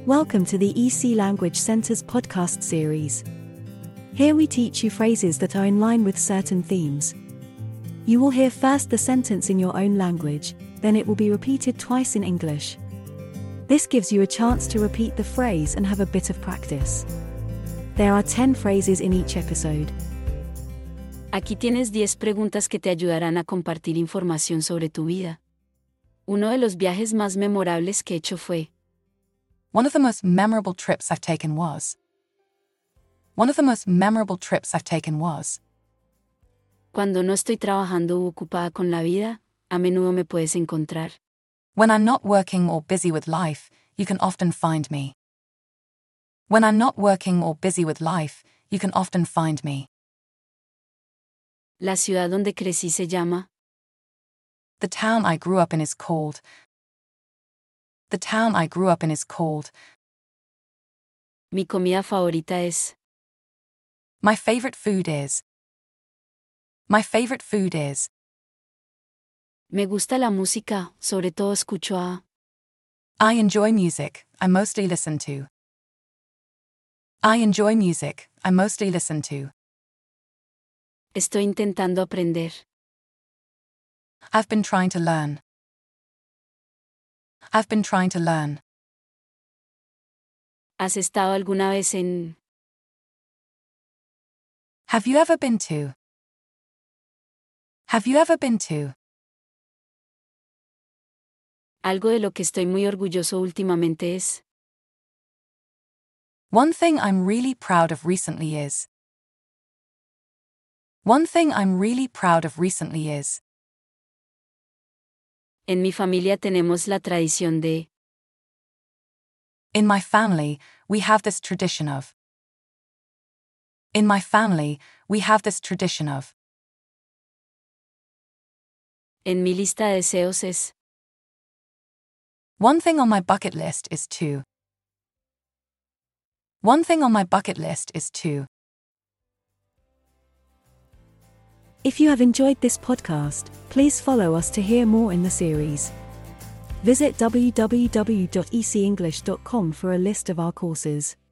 Welcome to the EC Language Center's podcast series. Here we teach you phrases that are in line with certain themes. You will hear first the sentence in your own language, then it will be repeated twice in English. This gives you a chance to repeat the phrase and have a bit of practice. There are 10 phrases in each episode. Aquí tienes 10 preguntas que te ayudarán a compartir información sobre tu vida. Uno de los viajes más memorables que he hecho fue. One of the most memorable trips I've taken was. One of the most memorable trips I've taken was. Cuando no estoy trabajando o ocupada con la vida, a menudo me puedes encontrar. When I'm not working or busy with life, you can often find me. When I'm not working or busy with life, you can often find me. La ciudad donde crecí se llama. The town I grew up in is called. The town I grew up in is called. Mi comida favorita es. My favorite food is. My favorite food is. Me gusta la música, sobre todo escucho a. I enjoy music, I mostly listen to. I enjoy music, I mostly listen to. Estoy intentando aprender. I've been trying to learn. I've been trying to learn. ¿Has estado alguna vez en? Have you ever been to? Have you ever been to? Algo de lo que estoy muy orgulloso últimamente es. One thing I'm really proud of recently is. One thing I'm really proud of recently is. En mi familia tenemos la tradición de. In my family, we have this tradition of. In my family, we have this tradition of. En mi lista de deseos es. One thing on my bucket list is to. One thing on my bucket list is to. If you have enjoyed this podcast, please follow us to hear more in the series. Visit www.ecenglish.com for a list of our courses.